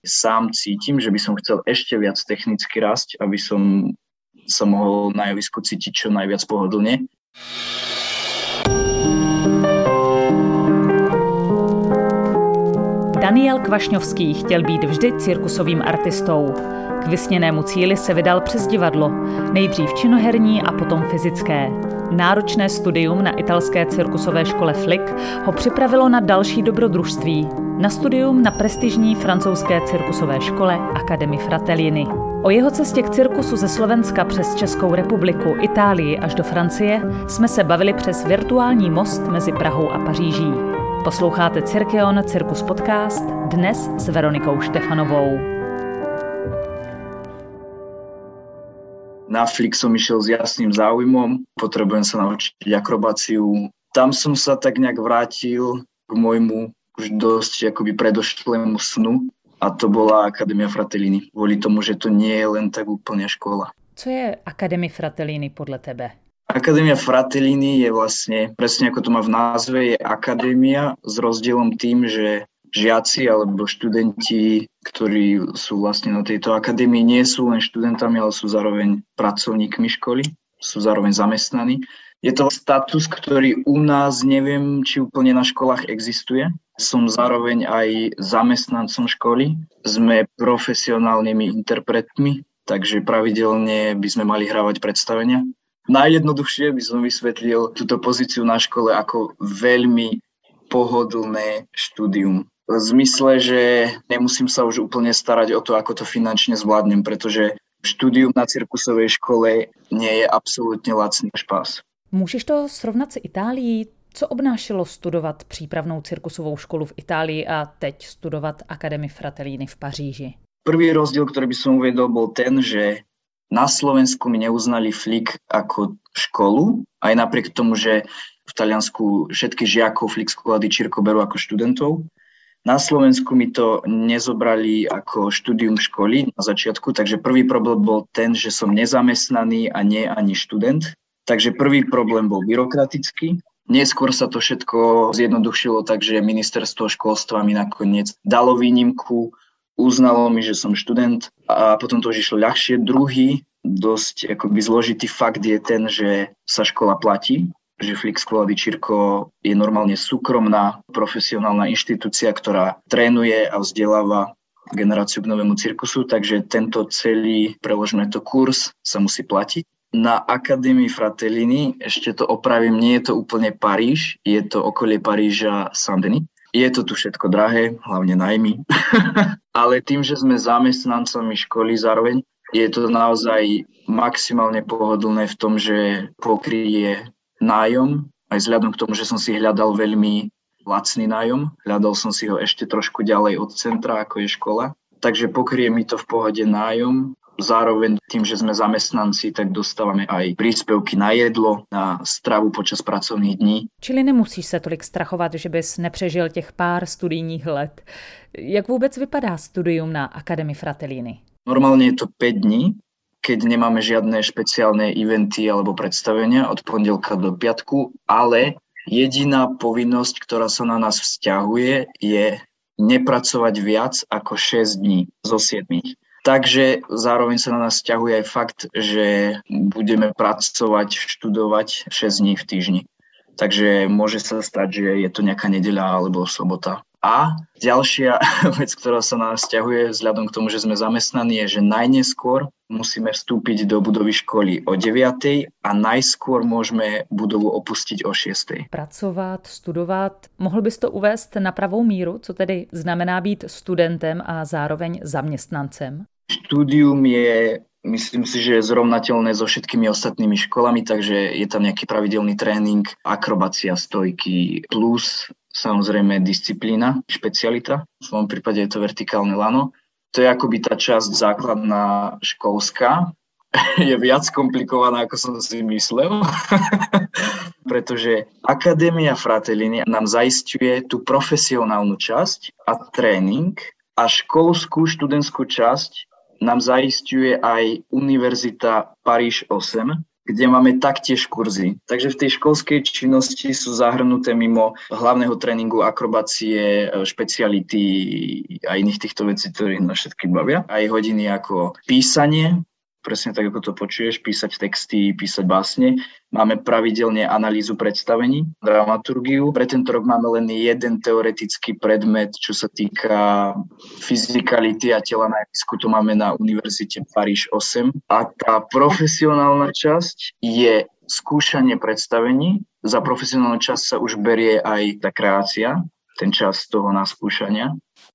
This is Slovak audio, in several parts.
sám cítim, že by som chcel ešte viac technicky rásť, aby som sa mohol na javisku cítiť čo najviac pohodlne. Daniel Kvašňovský chtěl být vždy cirkusovým artistou. K vysněnému cíli se vydal přes divadlo, nejdřív činoherní a potom fyzické. Náročné studium na italské cirkusové škole Flick ho připravilo na další dobrodružství, na studium na prestižní francouzské cirkusové škole Académie Fratellini. O jeho cestě k cirkusu ze Slovenska přes Českou republiku, Itálii až do Francie jsme se bavili přes virtuální most mezi Prahou a Paříží. Posloucháte Cirkeon Cirkus podcast, dnes s Veronikou Štefanovou. Na Flick som išiel s jasným záujmom, potrebujem sa naučiť akrobáciu. Tam som sa tak nejak vrátil k môjmu už dosť akoby predošlému snu a to bola Académia Fratellini. Kvôli tomu, že to nie je len tak úplne škola. Co je Académie Fratellini podle tebe? Académia Fratellini je vlastne, presne ako to má v názve, je akadémia s rozdielom tým, že žiaci alebo študenti, ktorí sú vlastne na tejto akadémii, nie sú len študentami, ale sú zároveň pracovníkmi školy, sú zároveň zamestnaní. Je to status, ktorý u nás neviem, či úplne na školách existuje. Som zároveň aj zamestnancom školy. Sme profesionálnymi interpretmi, takže pravidelne by sme mali hrávať predstavenia. Najjednoduchšie by som vysvetlil túto pozíciu na škole ako veľmi pohodlné štúdium. V zmysle, že nemusím sa už úplne starať o to, ako to finančne zvládnem, pretože štúdium na cirkusovej škole nie je absolútne lacný špás. Můžeš to srovnat s Itálií? Co obnášelo studovat přípravnou cirkusovou školu v Itálii a teď studovat Académie Fratellini v Paříži? Prvý rozdiel, ktorý by som uvedol, bol ten, že na Slovensku mi neuznali Flick ako školu, aj napriek tomu, že v Taliansku všetkých žiakov Flick školy Circo berú ako študentov. Na Slovensku mi to nezobrali ako štúdium školy na začiatku, takže prvý problém bol ten, že som nezamestnaný a nie ani študent. Takže prvý problém bol byrokratický. Neskôr sa to všetko zjednodušilo, takže ministerstvo školstva mi nakoniec dalo výnimku, uznalo mi, že som študent a potom to už išlo ľahšie. Druhý, dosť akoby zložitý fakt je ten, že sa škola platí, že Flick Scuola di Circo je normálne súkromná profesionálna inštitúcia, ktorá trénuje a vzdeláva generáciu k novému cirkusu, takže tento celý, preložme to, kurz sa musí platiť. Na Académii Fratellini, ešte to opravím, nie je to úplne Paríž, je to okolie Paríža Saint-Denis. Je to tu všetko drahé, hlavne nájmy, ale tým, že sme zamestnancami školy zároveň, je to naozaj maximálne pohodlné v tom, že pokryje nájom, aj vzhľadom k tomu, že som si hľadal veľmi lacný nájom, hľadal som si ho ešte trošku ďalej od centra, ako je škola, takže pokryje mi to v pohode nájom. Zároveň tým, že sme zamestnanci, tak dostávame aj príspevky na jedlo, na stravu počas pracovných dní. Čili nemusíš se tolik strachovat, že bys nepřežil těch pár studijních let. Jak vůbec vypadá studium na Académie Fratellini? Normálne je to 5 dní, keď nemáme žiadne špeciálne eventy alebo predstavenia od pondelka do piatku, ale jediná povinnosť, ktorá sa na nás vzťahuje, je nepracovať viac ako 6 dní zo 7. Takže zároveň sa na nás vzťahuje aj fakt, že budeme pracovať, študovať 6 dní v týždni. Takže môže sa stať, že je to nejaká nedeľa alebo sobota. A ďalšia vec, ktorá sa na nás vzťahuje vzhľadom k tomu, že sme zamestnaní, je, že najneskôr musíme vstúpiť do budovy školy o 9:00 a najskôr môžeme budovu opustiť o 6:00. Pracovat, studovat. Mohl bys to uvést na pravou míru, co tedy znamená být studentem a zároveň zaměstnancem? Štúdium je, myslím si, že je zrovnateľné so všetkými ostatnými školami, takže je tam nejaký pravidelný tréning, akrobácia, stojky, plus samozrejme disciplína, špecialita. V mojom prípade je to vertikálne lano. To je akoby tá časť základná školská. Je viac komplikovaná, ako som si myslel. Pretože Académia Fratellini nám zaisťuje tú profesionálnu časť a tréning a školskú študentskú časť nám zaisťuje aj Univerzita Paríž 8, kde máme taktiež kurzy. Takže v tej školskej činnosti sú zahrnuté mimo hlavného tréningu akrobácie, špeciality a iných týchto vecí, ktoré nás všetky bavia. Aj hodiny ako písanie, presne tak, ako to počuješ, písať texty, písať básne. Máme pravidelne analýzu predstavení, dramaturgiu. Pre tento rok máme len jeden teoretický predmet, čo sa týka fyzikality a tela na javisku. To máme na Univerzite Paríž 8. A tá profesionálna časť je skúšanie predstavení. Za profesionálnu časť sa už berie aj tá kreácia, ten čas toho naskúšania.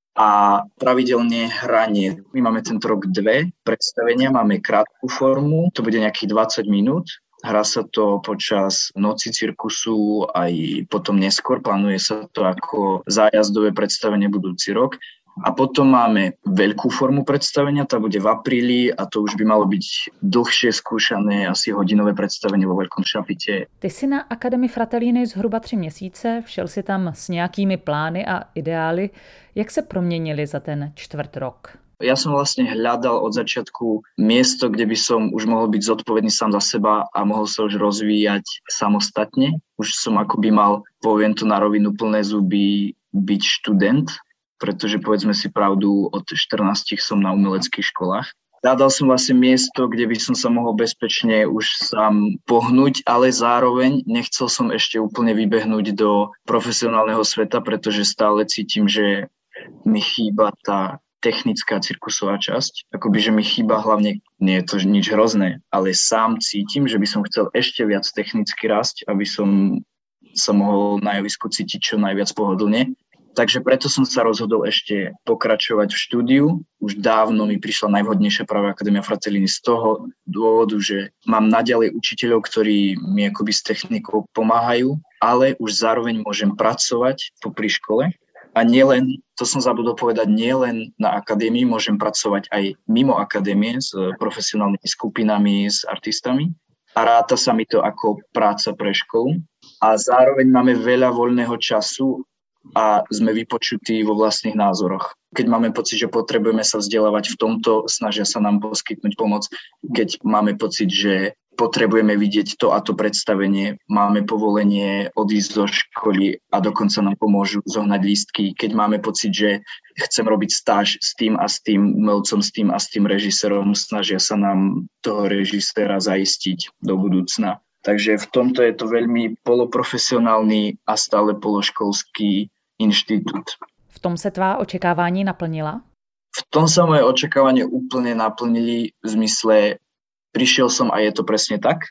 A pravidelne hranie. My máme tento rok 2 predstavenia, máme krátku formu, to bude nejakých 20 minút. Hrá sa to počas noci cirkusu, aj potom neskôr, plánuje sa to ako zájazdové predstavenie budúci rok. A potom máme veľkú formu predstavenia, tá bude v apríli a to už by malo byť dlhšie skúšané, asi hodinové představení vo Veľkom šapite. Ty jsi na Akademii Fratellini zhruba 3 měsíce, všel si tam s nějakými plány a ideály. Jak se proměnili za ten čtvrt rok? Ja som vlastne hľadal od začiatku miesto, kde by som už mohol byť zodpovedný sám za seba a mohol sa už rozvíjať samostatne. Už som akoby mal, poviem to na rovinu, plné zuby byť študent, pretože povedzme si pravdu, od 14 som na umeleckých školách. Hľadal som vlastne miesto, kde by som sa mohol bezpečne už sám pohnúť, ale zároveň nechcel som ešte úplne vybehnúť do profesionálneho sveta, pretože stále cítim, že mi chýba tá technická cirkusová časť. Akoby, že mi chýba hlavne, nie je to nič hrozné, ale sám cítim, že by som chcel ešte viac technicky rásť, aby som sa mohol na javisku cítiť čo najviac pohodlne. Takže preto som sa rozhodol ešte pokračovať v štúdiu. Už dávno mi prišla najvhodnejšia práve Akadémia Fratellini z toho dôvodu, že mám naďalej učiteľov, ktorí mi akoby s technikou pomáhajú, ale už zároveň môžem pracovať popri škole. A nielen, to som zabudol povedať, nielen na akadémii, môžem pracovať aj mimo akadémie s profesionálnymi skupinami, s artistami. A ráta sa mi to ako práca pre školu. A zároveň máme veľa voľného času a sme vypočutí vo vlastných názoroch. Keď máme pocit, že potrebujeme sa vzdelávať v tomto, snažia sa nám poskytnúť pomoc. Keď máme pocit, že potrebujeme vidieť to a to predstavenie, máme povolenie odísť zo školy a dokonca nám pomôžu zohnať lístky. Keď máme pocit, že chcem robiť stáž s tým a s tým umelcom, s tým a s tým režisérom, snažia sa nám toho režiséra zaistiť do budúcna. Takže v tomto je to veľmi poloprofesionálny a stále pološkolský inštitút. V tom se tvá očekávání naplnila? V tom sa moje očakávanie úplne naplnili v zmysle, prišiel som a je to presne tak,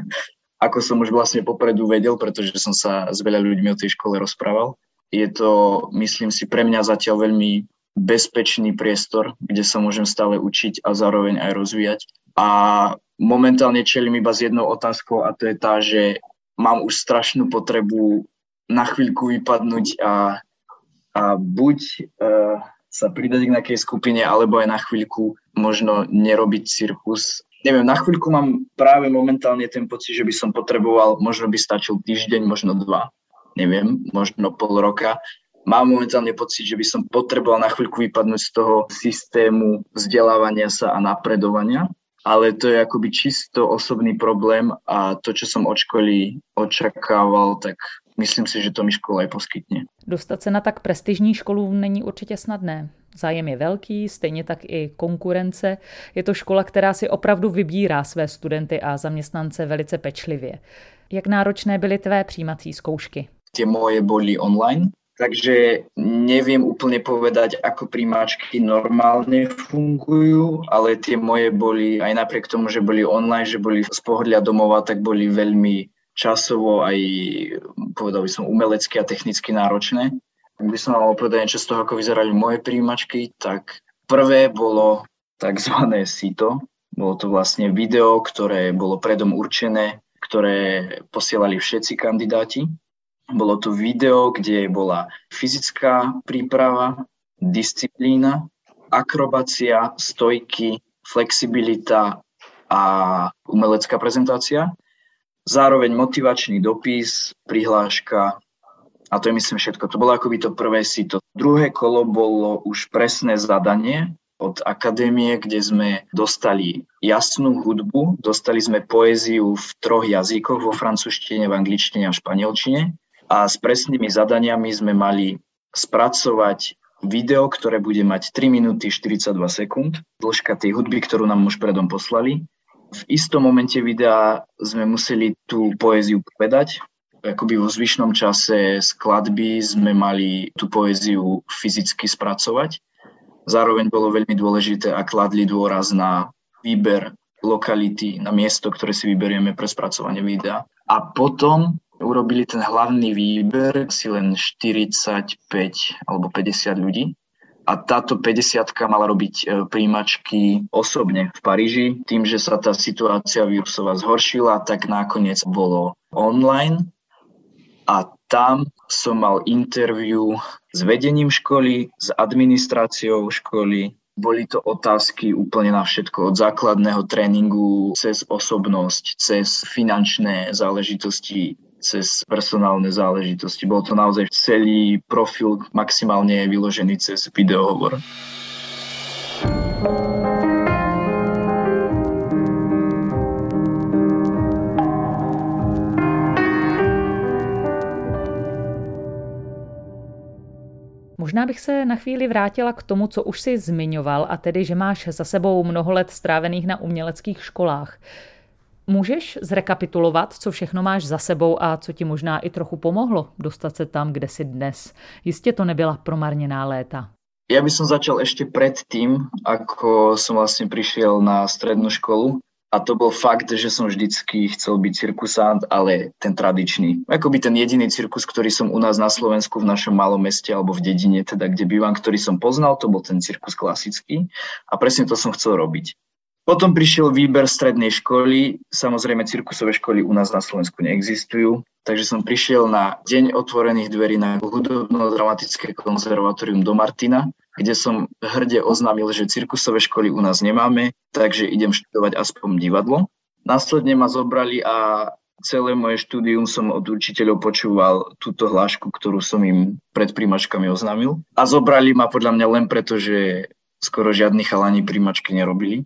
ako som už vlastne popredu vedel, pretože som sa s veľa ľuďmi o tej škole rozprával. Je to, myslím si, pre mňa zatiaľ veľmi bezpečný priestor, kde sa môžem stále učiť a zároveň aj rozvíjať. A momentálne čelím iba s jednou otázkou a to je tá, že mám už strašnú potrebu na chvíľku vypadnúť a buď sa pridať k nejakej skupine, alebo aj na chvíľku možno nerobiť cirkus. Neviem, na chvíľku mám práve momentálne ten pocit, že by som potreboval, možno by stačil týždeň, možno 2, neviem, možno pol roka. Mám momentálne pocit, že by som potreboval na chvíľku vypadnúť z toho systému vzdelávania sa a napredovania. Ale to je akoby čisto osobný problém a to, čo som od školy očakával, tak myslím si, že to mi škola aj poskytne. Dostat se na tak prestižní školu není určitě snadné. Zájem je velký, stejně tak i konkurence. Je to škola, která si opravdu vybírá své studenty a zaměstnance velice pečlivě. Jak náročné byly tvé přijímací zkoušky? Tie moje boli online, takže neviem úplne povedať, ako príjmačky normálne fungujú, ale tie moje boli, aj napriek tomu, že boli online, že boli z pohodlia domova, tak boli veľmi časovo aj, povedal by som, umelecky a technicky náročné. Ak by som mal povedať niečo z toho, ako vyzerali moje príjmačky, tak prvé bolo takzvané sito. Bolo to vlastne video, ktoré bolo predom určené, ktoré posielali všetci kandidáti. Bolo to video, kde bola fyzická príprava, disciplína, akrobácia, stojky, flexibilita a umelecká prezentácia. Zároveň motivačný dopis, prihláška a to je myslím všetko. To bolo akoby to prvé sito. Druhé kolo bolo už presné zadanie od akadémie, kde sme dostali jasnú hudbu, dostali sme poéziu v 3 jazykoch, vo francúzštine, v angličtine a v španielčine. A s presnými zadaniami sme mali spracovať video, ktoré bude mať 3 minúty 42 sekúnd, dĺžka tej hudby, ktorú nám už predom poslali. V istom momente videa sme museli tú poéziu povedať. Akoby vo zvyšnom čase skladby sme mali tú poéziu fyzicky spracovať. Zároveň bolo veľmi dôležité a kladli dôraz na výber lokality, na miesto, ktoré si vyberieme pre spracovanie videa. A potom urobili ten hlavný výber si len 45 alebo 50 ľudí. A táto 50-ka mala robiť prijímačky osobne v Paríži. Tým, že sa tá situácia vírusová zhoršila, tak nakoniec bolo online. A tam som mal interview s vedením školy, s administráciou školy. Boli to otázky úplne na všetko, od základného tréningu cez osobnosť, cez finančné záležitosti, cez personálne záležitosti. Bol to naozaj celý profil maximálne vyložený cez videohovor. Možná bych se na chvíli vrátila k tomu, co už si zmiňoval, a tedy, že máš za sebou mnoho let strávených na uměleckých školách. Můžeš zrekapitulovat, co všechno máš za sebou a co ti možná i trochu pomohlo dostat se tam, kde jsi dnes? Jistě to nebyla promarněná léta. Ja by som začal ešte pred tým, ako som vlastne prišiel na strednú školu. A to bol fakt, že som vždycky chcel byť cirkusant, ale ten tradičný. Akoby ten jediný cirkus, ktorý som u nás na Slovensku v našom malom meste alebo v dedine, teda kde bývam, ktorý som poznal, to bol ten cirkus klasický. A presne to som chcel robiť. Potom prišiel výber strednej školy. Samozrejme, cirkusové školy u nás na Slovensku neexistujú. Takže som prišiel na deň otvorených dverí na hudobno-dramatické konzervatórium do Martina, kde som hrde oznámil, že cirkusové školy u nás nemáme, takže idem študovať aspoň divadlo. Následne ma zobrali a celé moje štúdium som od učiteľov počúval túto hlášku, ktorú som im pred prijímačkami oznámil. A zobrali ma podľa mňa len preto, že skoro žiadni chalani prijímačky nerobili.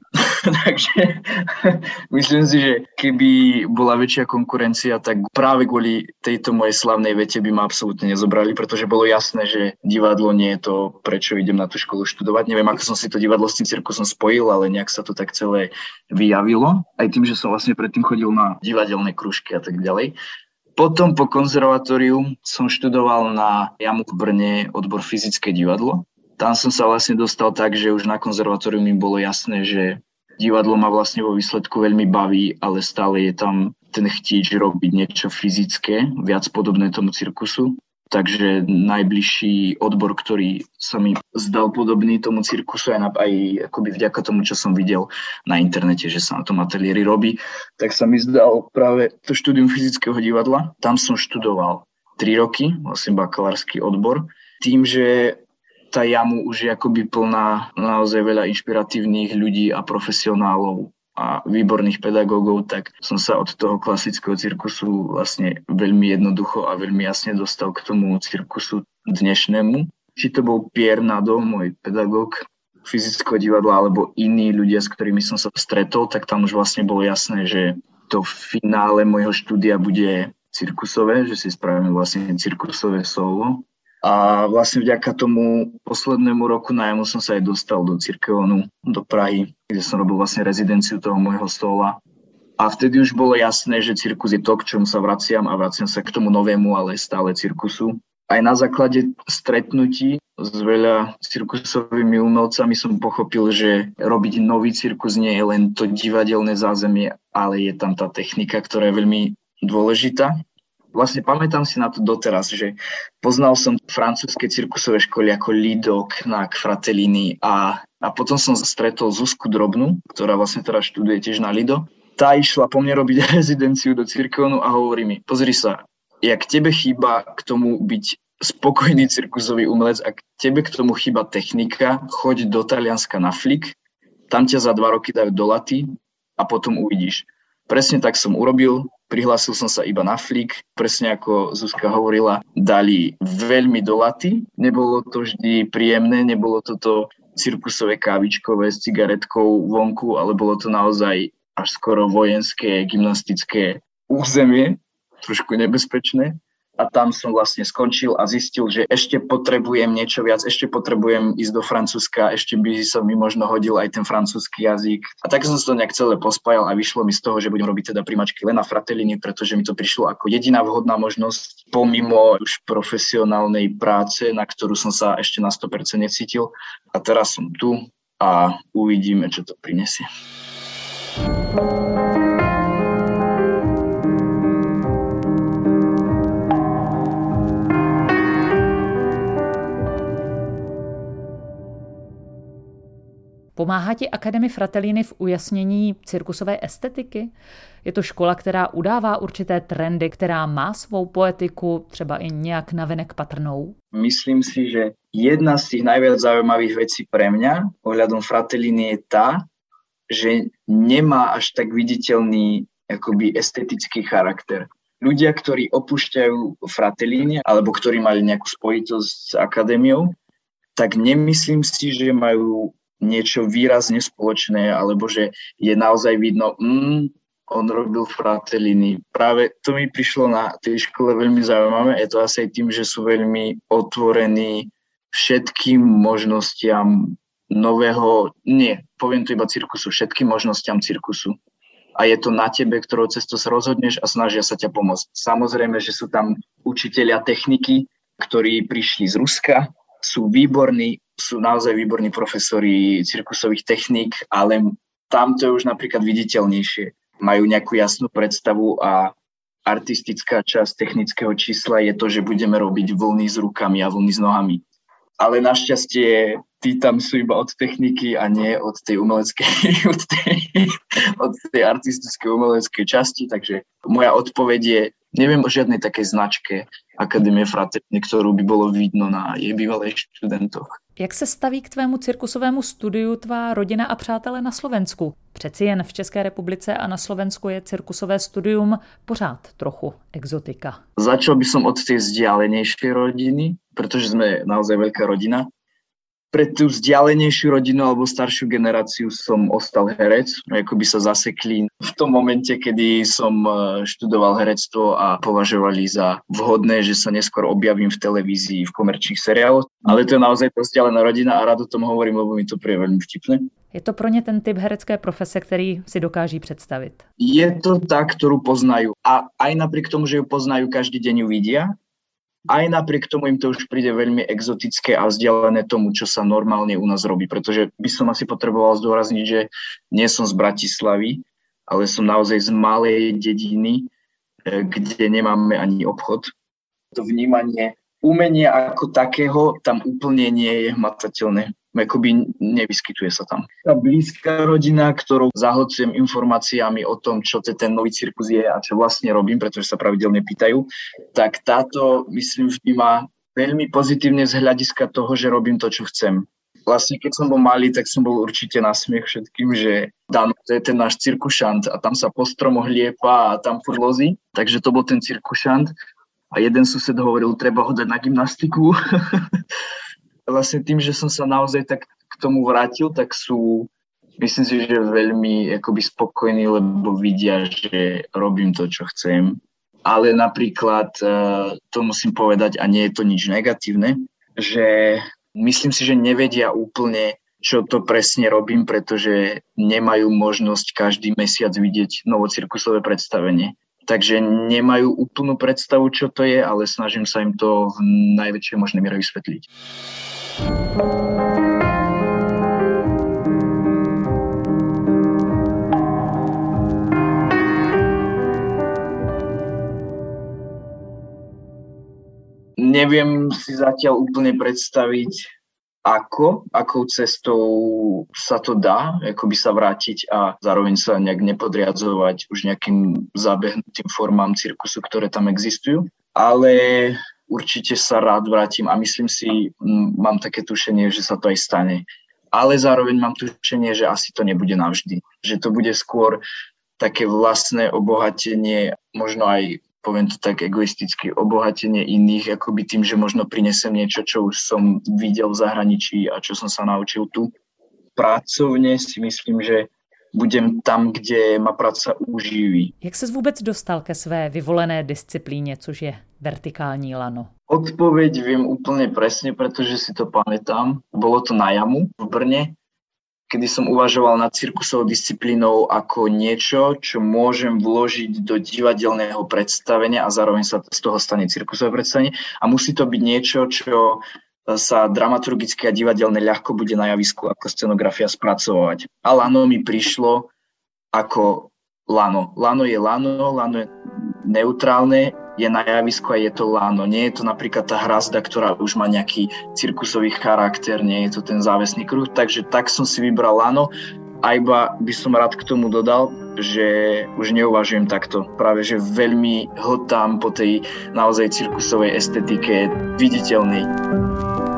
Takže myslím si, že keby bola väčšia konkurencia, tak práve kvôli tejto mojej slavnej vete by ma absolútne nezobrali, pretože bolo jasné, že divadlo nie je to, prečo idem na tú školu študovať. Neviem, ako som si to divadlo s tým cirkusom spojil, ale nejak sa to tak celé vyjavilo. Aj tým, že som vlastne predtým chodil na divadelné krúžky a tak ďalej. Potom po konzervatóriu som študoval na JAMU v Brne odbor fyzické divadlo. Tam som sa vlastne dostal tak, že už na konzervatóriu mi bolo jasné, že divadlo ma vlastne vo výsledku veľmi baví, ale stále je tam ten chtíč robiť niečo fyzické, viac podobné tomu cirkusu. Takže najbližší odbor, ktorý sa mi zdal podobný tomu cirkusu, aj akoby vďaka tomu, čo som videl na internete, že sa na tom ateliéri robí, tak sa mi zdal práve to štúdium fyzického divadla. Tam som študoval 3 roky, vlastne bakalársky odbor. Tým, že tá JAMU už je akoby plná naozaj veľa inšpiratívnych ľudí a profesionálov a výborných pedagógov, tak som sa od toho klasického cirkusu vlastne veľmi jednoducho a veľmi jasne dostal k tomu cirkusu dnešnému. Či to bol Pierre Nadeau, môj pedagóg fyzického divadla, alebo iní ľudia, s ktorými som sa stretol, tak tam už vlastne bolo jasné, že to finále môjho štúdia bude cirkusové, že si spravíme vlastne cirkusové solo. A vlastne vďaka tomu poslednému roku na JAMU som sa aj dostal do Cirkevonu, do Prahy, kde som robil vlastne rezidenciu toho môjho stola. A vtedy už bolo jasné, že cirkus je to, k čomu sa vraciam a vraciam sa k tomu novému, ale stále cirkusu. Aj na základe stretnutí s veľa cirkusovými umelcami som pochopil, že robiť nový cirkus nie je len to divadelné zázemie, ale je tam tá technika, ktorá je veľmi dôležitá. Vlastne pamätám si na to doteraz, že poznal som francúzske cirkusové školy ako Lido, Knack, Fratellini a potom som stretol Zuzku Drobnú, ktorá vlastne teraz študuje tiež na Lido. Tá išla po mne robiť rezidenciu do Cirkevonu a hovorí mi, pozri sa, jak tebe chýba k tomu byť spokojný cirkusový umelec, ak tebe k tomu chýba technika, choď do Talianska na flik, tam ťa za 2 roky dajú do laty a potom uvidíš. Presne tak som urobil, prihlásil som sa iba na flik, presne ako Zuzka hovorila, dali veľmi do laty. Nebolo to vždy príjemné, nebolo to cirkusové kávičkové s cigaretkou vonku, ale bolo to naozaj až skoro vojenské, gymnastické územie, trošku nebezpečné. A tam som vlastne skončil a zistil, že ešte potrebujem niečo viac, ešte potrebujem ísť do Francúzska, ešte by sa mi možno hodil aj ten francúzsky jazyk. A tak som to nejak celé pospájal a vyšlo mi z toho, že budem robiť teda primačky len na Fratellini, pretože mi to prišlo ako jediná vhodná možnosť pomimo už profesionálnej práce, na ktorú som sa ešte na 100% necítil. A teraz som tu a uvidíme, čo to prinesie. Pomáhá ti Akademie Fratellini v ujasnění cirkusové estetiky? Je to škola, která udává určité trendy, která má svou poetiku, třeba i nějak navenek patrnou? Myslím si, že jedna z tých najviac zaujímavých vecí pre mňa ohľadom Fratellini je tá, že nemá až tak viditeľný akoby estetický charakter. Ľudia, ktorí opúšťajú Fratellini, alebo ktorí mali nejakú spojitosť s akadémiou, tak nemyslím si, že majú niečo výrazne spoločné, alebo že je naozaj vidno, on robil Fratellini. Práve to mi prišlo na tej škole veľmi zaujímavé. Je to asi aj tým, že sú veľmi otvorení všetkým možnostiam nového, poviem to iba cirkusu, všetkým možnostiam cirkusu. A je to na tebe, ktorou cestou sa rozhodneš a snažia sa ťa pomôcť. Samozrejme, že sú tam učitelia techniky, ktorí prišli z Ruska, sú výborní, sú naozaj výborní profesori cirkusových techník, ale tam to je už napríklad viditeľnejšie. Majú nejakú jasnú predstavu a artistická časť technického čísla je to, že budeme robiť vlny s rukami a vlny s nohami. Ale našťastie tí tam sú iba od techniky a nie od tej umeleckej, od tej artistickej umeleckej časti, takže moja odpoveď je, neviem o žiadnej takej značke Akadémie Fratellini, ktorú by bolo vidno na jej bývalých študentoch. Jak se staví k tvému cirkusovému studiu tvá rodina a přátelé na Slovensku? Přeci jen v České republice a na Slovensku je cirkusové studium pořád trochu exotika. Začal by som od tej vzdialenejšej rodiny, pretože sme naozaj veľká rodina. Pre tú vzdialenejšiu rodinu alebo staršiu generáciu som ostal herec. Ako by sa zasekli v tom momente, kedy som študoval herectvo a považovali za vhodné, že sa neskôr objavím v televízii, v komerčných seriáloch. Ale to je naozaj vzdialená rodina a rád o tom hovorím, lebo mi to príde veľmi vtipné. Je to pro ně ten typ herecké profese, který si dokáží představit? Je to tá, ktorú poznajú. A aj napriek tomu, že ju poznajú, každý deň ju vidia. Aj napriek tomu im to už príde veľmi exotické a vzdialené tomu, čo sa normálne u nás robí. Pretože by som asi potreboval zdôrazniť, že nie som z Bratislavy, ale som naozaj z malej dediny, kde nemáme ani obchod. To vnímanie umenia ako takého tam úplne nie je hmatateľné. Akoby nevyskytuje sa tam. Tá blízka rodina, ktorou zahlcujem informáciami o tom, čo ten nový cirkus je a čo vlastne robím, pretože sa pravidelne pýtajú, tak táto, myslím, vníma veľmi pozitívne z hľadiska toho, že robím to, čo chcem. Vlastne, keď som bol malý, tak som bol určite na smiech všetkým, že Dano, to je ten náš cirkušant a tam sa po stromoch liepa a tam furt lozí. Takže to bol ten cirkušant. A jeden sused hovoril, treba ho dať na gymnastiku. Vlastne tým, že som sa naozaj tak k tomu vrátil, tak sú, myslím si, že veľmi akoby spokojní, lebo vidia, že robím to, čo chcem. Ale napríklad, to musím povedať, a nie je to nič negatívne, že myslím si, že nevedia úplne, čo to presne robím, pretože nemajú možnosť každý mesiac vidieť novocirkusové predstavenie. Takže nemajú úplnú predstavu, čo to je, ale snažím sa im to v najväčšej možnej miere vysvetliť. Neviem si zatiaľ úplne predstaviť, akou cestou sa to dá, ako by sa vrátiť a zároveň sa nejak nepodriadzovať už nejakým zabehnutým formám cirkusu, ktoré tam existujú. Ale určite sa rád vrátim a myslím si, mám také tušenie, že sa to aj stane. Ale zároveň mám tušenie, že asi to nebude navždy. Že to bude skôr také vlastné obohatenie, možno aj poviem to tak egoisticky, obohatenie iných, akoby tým, že možno prinesem niečo, čo už som videl v zahraničí a čo som sa naučil tu. Pracovne si myslím, že budem tam, kde ma práca uživí. Jak ses vůbec dostal ke své vyvolené disciplíně, což je vertikální lano? Odpoveď viem úplne presne, pretože si to pamätám. Bolo to na jamu v Brne, kedy som uvažoval nad cirkusovou disciplínou ako niečo, čo môžem vložiť do divadelného predstavenia a zároveň sa z toho stane cirkusové predstavenie. A musí to byť niečo, čo sa dramaturgicky a divadelne ľahko bude na javisku ako scenografia spracovať. A lano mi prišlo ako lano. Lano je neutrálne, je na javisku a je to lano. Nie je to napríklad tá hrazda, ktorá už má nejaký cirkusový charakter, nie je to ten závesný kruh, takže tak som si vybral lano. A iba by som rád k tomu dodal, že už neuvažujem takto. Práve, že veľmi hltám po tej naozaj cirkusovej estetike viditeľnej.